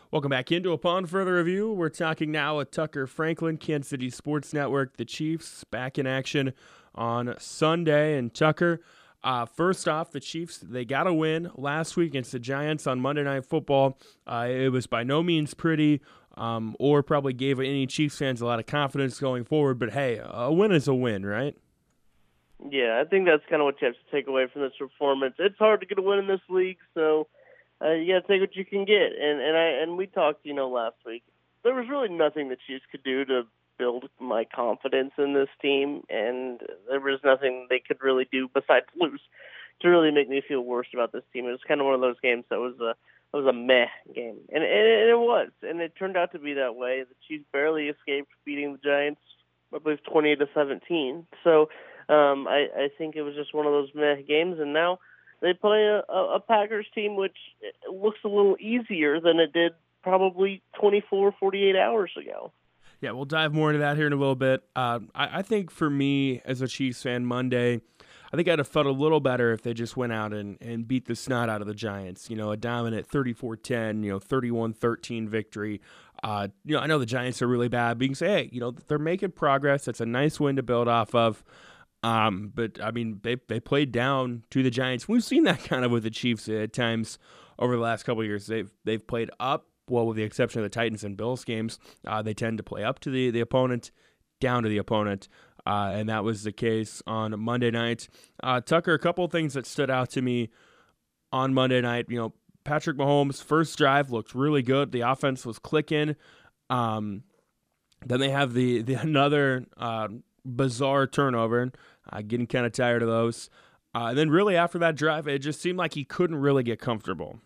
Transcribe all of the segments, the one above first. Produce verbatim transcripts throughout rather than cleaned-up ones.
Welcome back into Upon Further Review. We're talking now with Tucker Franklin, Kansas City Sports Network. The Chiefs back in action on Sunday. And Tucker, uh, first off, the Chiefs, they got a win last week against the Giants on Monday Night Football. Uh, it was by no means pretty um, or probably gave any Chiefs fans a lot of confidence going forward. But, hey, a win is a win, right? Yeah, I think that's kind of what you have to take away from this performance. It's hard to get a win in this league, so uh, you got to take what you can get. And and I and we talked, you know, last week. There was really nothing the Chiefs could do to build my confidence in this team, and there was nothing they could really do besides lose to really make me feel worse about this team. It was kind of one of those games that was a it was a meh game, and, and it was, and it turned out to be that way. The Chiefs barely escaped beating the Giants, I believe, twenty-eight to seventeen. So. Um, I, I think it was just one of those meh games, and now they play a, a Packers team which looks a little easier than it did probably twenty-four, forty-eight hours ago. Yeah, we'll dive more into that here in a little bit. Uh, I, I think for me, as a Chiefs fan, Monday, I think I'd have felt a little better if they just went out and, and beat the snot out of the Giants. You know, a dominant thirty-four ten, you know, thirty-one thirteen victory. Uh, you know, I know the Giants are really bad, but you can say, hey, you know, they're making progress. It's a nice win to build off of. Um, but I mean, they they played down to the Giants. We've seen that kind of with the Chiefs at times over the last couple of years. They've they've played up, well, with the exception of the Titans and Bills games. Uh, they tend to play up to the, the opponent, down to the opponent, uh, and that was the case on Monday night. Uh, Tucker, a couple of things that stood out to me on Monday night. You know, Patrick Mahomes' first drive looked really good. The offense was clicking. Um, then they have the the another. Uh, bizarre turnover, uh, getting kind of tired of those. Uh, and then really after that drive, it just seemed like he couldn't really get comfortable.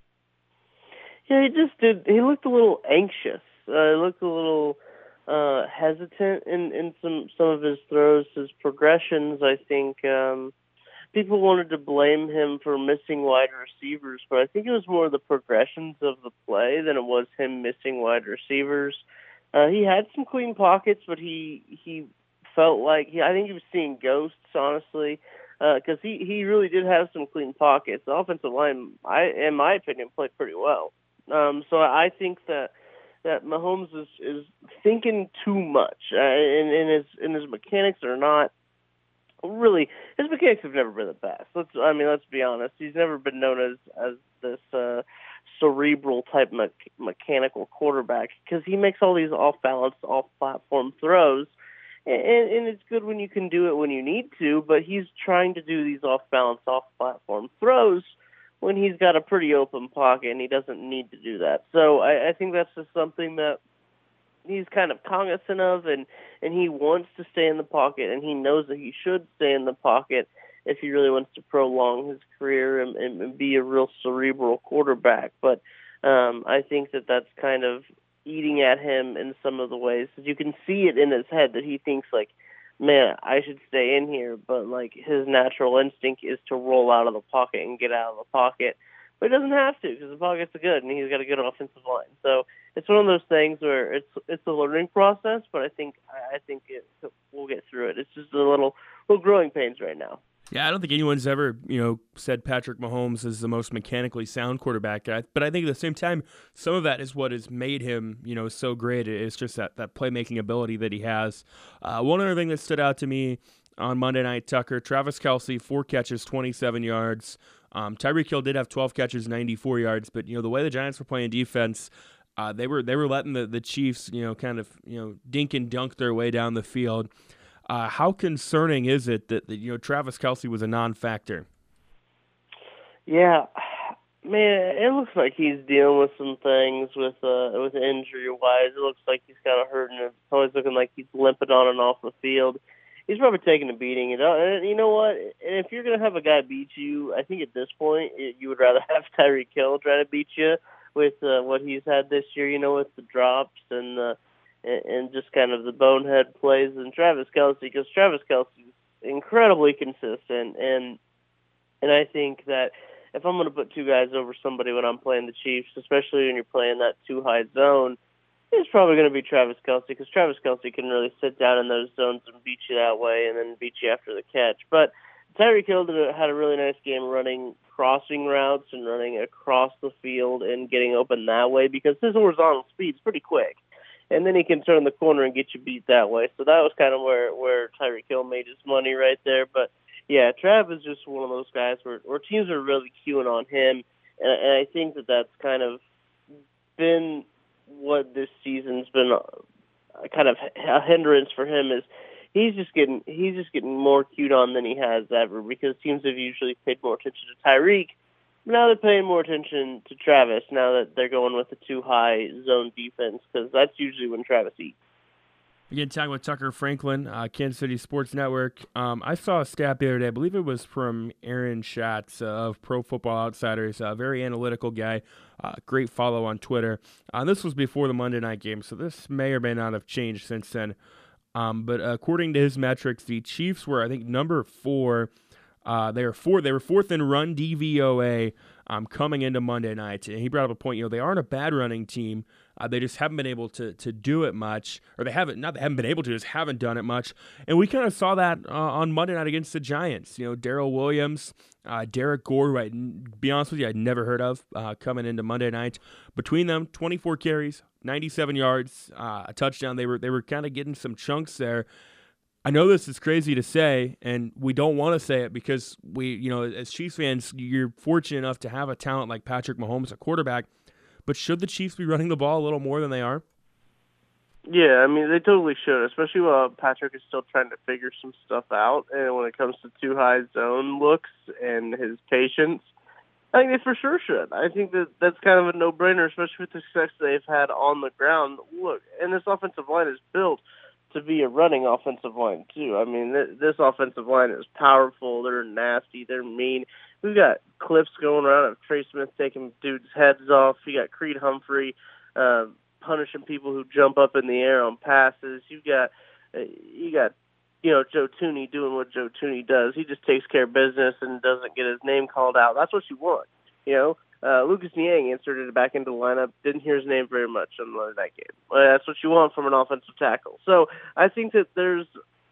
Yeah, he just did. He looked a little anxious. Uh, he looked a little uh, hesitant in, in some, some of his throws, his progressions. I think um, people wanted to blame him for missing wide receivers, but I think it was more the progressions of the play than it was him missing wide receivers. Uh, he had some clean pockets, but he he felt like he, I think he was seeing ghosts, honestly, because uh, he, he really did have some clean pockets. The offensive line, I, in my opinion, played pretty well. Um, so I think that that Mahomes is, is thinking too much, uh, and, and his and his mechanics are not really. His mechanics have never been the best. Let's I mean, let's be honest. He's never been known as as this uh, cerebral type me- mechanical quarterback because he makes all these off balance, off platform throws. And, and it's good when you can do it when you need to, but he's trying to do these off-balance, off-platform throws when he's got a pretty open pocket, and he doesn't need to do that. So I, I think that's just something that he's kind of cognizant of, and, and he wants to stay in the pocket, and he knows that he should stay in the pocket if he really wants to prolong his career and, and be a real cerebral quarterback. But um, I think that that's kind of eating at him in some of the ways that you can see it in his head that he thinks like, man, I should stay in here. But like his natural instinct is to roll out of the pocket and get out of the pocket. But he doesn't have to because the pocket's good and he's got a good offensive line. So it's one of those things where it's it's a learning process. But I think I think it, we'll get through it. It's just a little little growing pains right now. Yeah, I don't think anyone's ever, you know, said Patrick Mahomes is the most mechanically sound quarterback. But I think at the same time, some of that is what has made him, you know, so great. It's just that, that playmaking ability that he has. Uh, one other thing that stood out to me on Monday night, Tucker, Travis Kelce, four catches, twenty-seven yards. Um, Tyreek Hill did have twelve catches, ninety-four yards. But, you know, the way the Giants were playing defense, uh, they were they were letting the, the Chiefs, you know, kind of, you know, dink and dunk their way down the field. Uh, how concerning is it that, that you know Travis Kelce was a non-factor? Yeah, man, it looks like he's dealing with some things with uh, with injury-wise. It looks like he's kind of hurting. It's always looking like he's limping on and off the field. He's probably taking a beating. You know, and you know what? And if you're going to have a guy beat you, I think at this point it, you would rather have Tyreek Hill try to beat you with uh, what he's had this year. You know, with the drops and the. and just kind of the bonehead plays and Travis Kelce, because Travis Kelce is incredibly consistent, and and I think that if I'm going to put two guys over somebody when I'm playing the Chiefs, especially when you're playing that too high zone, it's probably going to be Travis Kelce, because Travis Kelce can really sit down in those zones and beat you that way and then beat you after the catch. But Tyreek Hill had a really nice game running crossing routes and running across the field and getting open that way, because his horizontal speed is pretty quick. And then he can turn the corner and get you beat that way. So that was kind of where, where Tyreek Hill made his money right there. But, yeah, Trav is just one of those guys where, where teams are really queuing on him. And, and I think that that's kind of been what this season's been a, kind of a hindrance for him, is he's just getting he's just getting more queued on than he has ever, because teams have usually paid more attention to Tyreek. Now they're paying more attention to Travis, now that they're going with the too high zone defense, because that's usually when Travis eats. Again, talking with Tucker Franklin, uh, Kansas City Sports Network. Um, I saw a stat the other day, I believe it was from Aaron Schatz uh, of Pro Football Outsiders, a very analytical guy, uh, great follow on Twitter. Uh, this was before the Monday night game, so this may or may not have changed since then. Um, but according to his metrics, the Chiefs were, I think, number four. Uh, they were four. They were fourth in run D V O A um, coming into Monday night. And he brought up a point. You know, they aren't a bad running team. Uh, they just haven't been able to to do it much, or they haven't not they haven't been able to, just haven't done it much. And we kind of saw that uh, on Monday night against the Giants. You know, Darrell Williams, uh, Derek Gore, who I, be honest with you, I'd never heard of uh, coming into Monday night. Between them, twenty-four carries, ninety-seven yards, uh, a touchdown. They were they were kind of getting some chunks there. I know this is crazy to say, and we don't want to say it because we, you know, as Chiefs fans, you're fortunate enough to have a talent like Patrick Mahomes, a quarterback. But should the Chiefs be running the ball a little more than they are? Yeah, I mean, they totally should, especially while Patrick is still trying to figure some stuff out. And when it comes to too high zone looks and his patience, I think they for sure should. I think that that's kind of a no-brainer, especially with the success they've had on the ground. Look, and this offensive line is built to be a running offensive line, too. I mean, th- this offensive line is powerful. They're nasty. They're mean. We've got clips going around of Trey Smith taking dudes' heads off. You got Creed Humphrey uh, punishing people who jump up in the air on passes. You've got, uh, you got, you know, Joe Tooney doing what Joe Tooney does. He just takes care of business and doesn't get his name called out. That's what you want, you know. Uh, Lucas Niang inserted it back into the lineup. Didn't hear his name very much on the Monday night game. Well, that's what you want from an offensive tackle. So I think that there's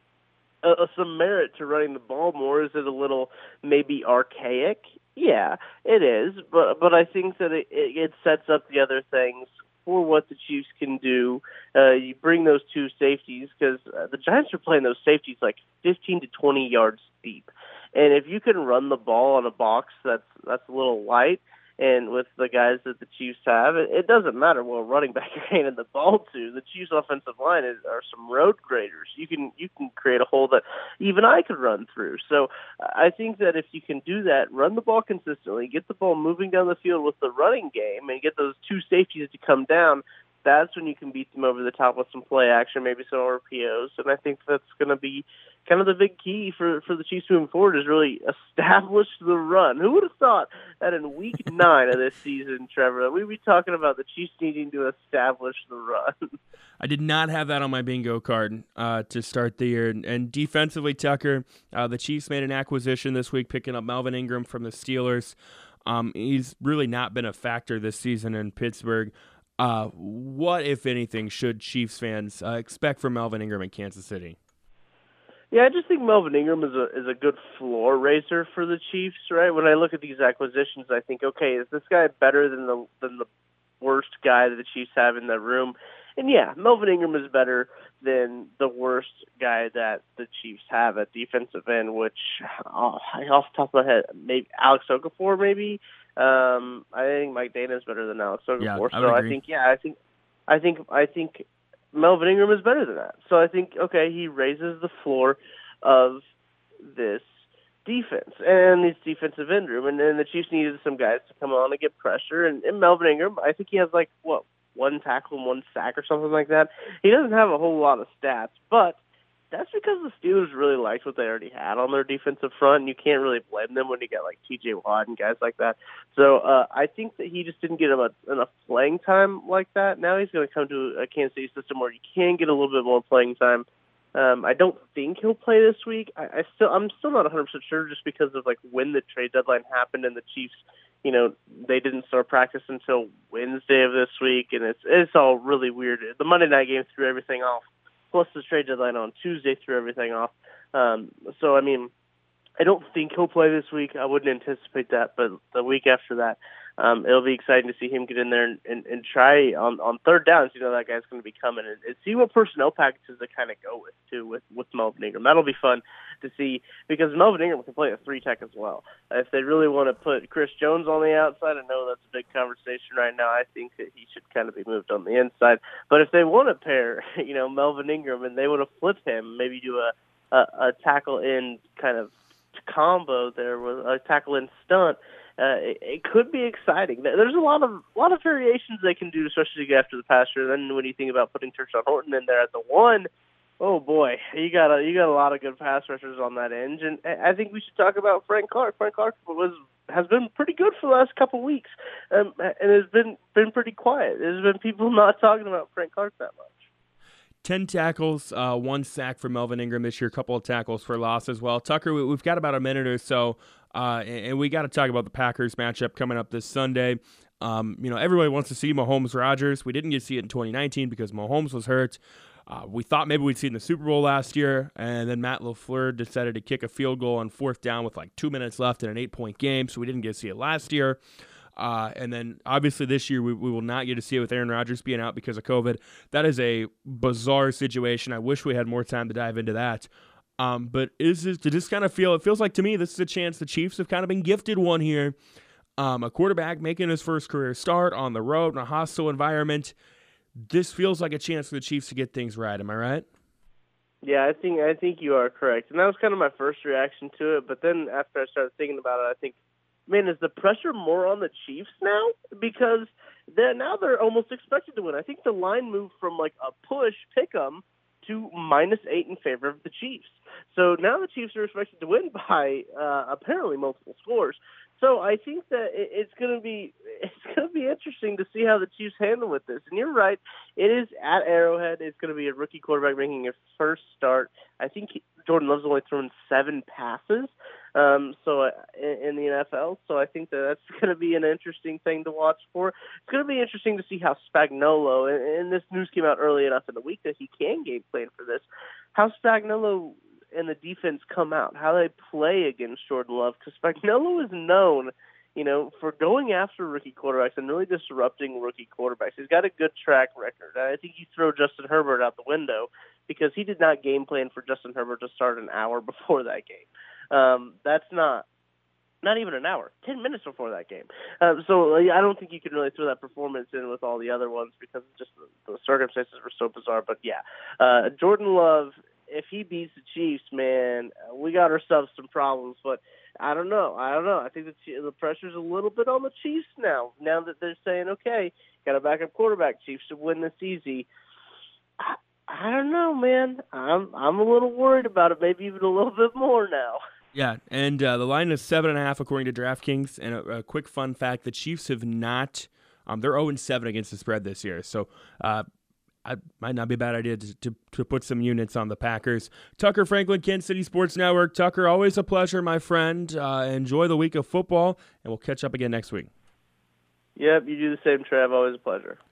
a, a, some merit to running the ball more. Is it a little maybe archaic? Yeah, it is. But but I think that it, it sets up the other things for what the Chiefs can do. Uh, you bring those two safeties, because uh, the Giants are playing those safeties like fifteen to twenty yards deep. And if you can run the ball on a box that's that's a little light, and with the guys that the Chiefs have, it, it doesn't matter what running back you're handing the ball to. The Chiefs' offensive line is, are some road graders. You can you can create a hole that even I could run through. So I think that if you can do that, run the ball consistently, get the ball moving down the field with the running game, and get those two safeties to come down, that's when you can beat them over the top with some play action, maybe some R P Os. And I think that's going to be kind of the big key for, for the Chiefs moving forward, is really establish the run. Who would have thought that in week nine of this season, Trevor, that we'd be talking about the Chiefs needing to establish the run? I did not have that on my bingo card uh, to start the year. And, and defensively, Tucker, uh, the Chiefs made an acquisition this week, picking up Melvin Ingram from the Steelers. Um, he's really not been a factor this season in Pittsburgh. Uh, what, if anything, should Chiefs fans uh, expect from Melvin Ingram in Kansas City? Yeah, I just think Melvin Ingram is a is a good floor raiser for the Chiefs, right? When I look at these acquisitions, I think, okay, is this guy better than the than the worst guy that the Chiefs have in the room? And yeah, Melvin Ingram is better than the worst guy that the Chiefs have at defensive end, which oh, off the top of my head, maybe Alex Okafor, maybe. Um, I think Mike Dana is better than Alex Okafor. Yeah, I so agree. I think, yeah, I think, I think, I think. Melvin Ingram is better than that. So I think, okay, he raises the floor of this defense and this defensive end room. And then the Chiefs needed some guys to come on and get pressure. And, and Melvin Ingram, I think he has like, what, one tackle and one sack or something like that. He doesn't have a whole lot of stats, but that's because the Steelers really liked what they already had on their defensive front, and you can't really blame them when you get like T J Watt and guys like that. So uh, I think that he just didn't get enough, enough playing time like that. Now he's going to come to a Kansas City system where you can get a little bit more playing time. Um, I don't think he'll play this week. I, I still, I'm still not one hundred percent sure, just because of like when the trade deadline happened and the Chiefs, you know, they didn't start practice until Wednesday of this week, and it's it's all really weird. The Monday night game threw everything off. Plus the trade deadline on Tuesday threw everything off. Um, so, I mean, I don't think he'll play this week. I wouldn't anticipate that, but the week after that, um, it'll be exciting to see him get in there and, and, and try on, on third downs. You know that guy's going to be coming and, and see what personnel packages they kind of go with too with with Melvin Ingram. That'll be fun to see because Melvin Ingram can play a three tech as well. If they really want to put Chris Jones on the outside, I know that's a big conversation right now. I think that he should kind of be moved on the inside. But if they want to pair, you know, Melvin Ingram and they want to flip him, maybe do a a, a tackle in kind of combo there with a tackle in stunt. Uh, it, it could be exciting. There's a lot of a lot of variations they can do, especially after the pass rush. Then when you think about putting Tershawn Horton in there at the one, oh boy, you got a you got a lot of good pass rushers on that end. And I think we should talk about Frank Clark. Frank Clark was has been pretty good for the last couple of weeks, um, and has been been pretty quiet. There's been people not talking about Frank Clark that much. ten tackles, uh, one sack for Melvin Ingram this year, a couple of tackles for loss as well. Tucker, we, we've got about a minute or so, uh, and, and we got to talk about the Packers matchup coming up this Sunday. Um, you know, everybody wants to see Mahomes-Rodgers. We didn't get to see it in twenty nineteen because Mahomes was hurt. Uh, we thought maybe we'd see it in the Super Bowl last year, and then Matt LaFleur decided to kick a field goal on fourth down with like two minutes left in an eight-point game, so we didn't get to see it last year. Uh, and then, obviously, this year we, we will not get to see it with Aaron Rodgers being out because of COVID. That is a bizarre situation. I wish we had more time to dive into that. Um, but is this, to just kind of feel, it feels like to me this is a chance the Chiefs have kind of been gifted one here. Um, a quarterback making his first career start on the road in a hostile environment. This feels like a chance for the Chiefs to get things right. Am I right? Yeah, I think I think you are correct. And that was kind of my first reaction to it. But then after I started thinking about it, I think, man, is the pressure more on the Chiefs now? Because they're, now they're almost expected to win. I think the line moved from like a push, pick 'em, to minus eight in favor of the Chiefs. So now the Chiefs are expected to win by uh, apparently multiple scores. So I think that it, it's going to be it's going to be interesting to see how the Chiefs handle with this. And you're right, it is at Arrowhead. It's going to be a rookie quarterback making his first start. I think Jordan Love's only thrown seven passes. Um, so uh, in, in the N F L, so I think that that's going to be an interesting thing to watch for. It's going to be interesting to see how Spagnuolo, and, and this news came out early enough in the week that he can game plan for this, how Spagnuolo and the defense come out, how they play against Jordan Love, because Spagnuolo is known, you know, for going after rookie quarterbacks and really disrupting rookie quarterbacks. He's got a good track record. I think you throw Justin Herbert out the window because he did not game plan for Justin Herbert to start an hour before that game. Um, that's not not even an hour, ten minutes before that game. Um, so I don't think you can really throw that performance in with all the other ones because just the, the circumstances were so bizarre. But yeah, uh, Jordan Love, if he beats the Chiefs, man, we got ourselves some problems. But I don't know. I don't know. I think the, the pressure's a little bit on the Chiefs now, now that they're saying, okay, got a backup quarterback. Chiefs should win this easy. I, I don't know, man. I'm I'm a little worried about it, maybe even a little bit more now. Yeah, and uh, the line is seven and a half according to DraftKings. And a, a quick fun fact: the Chiefs have not, um, they're zero and seven against the spread this year. So, uh, it might not be a bad idea to, to to put some units on the Packers. Tucker Franklin, Kansas City Sports Network. Tucker, always a pleasure, my friend. Uh, enjoy the week of football, and we'll catch up again next week. Yep, you do the same, Trav. Always a pleasure.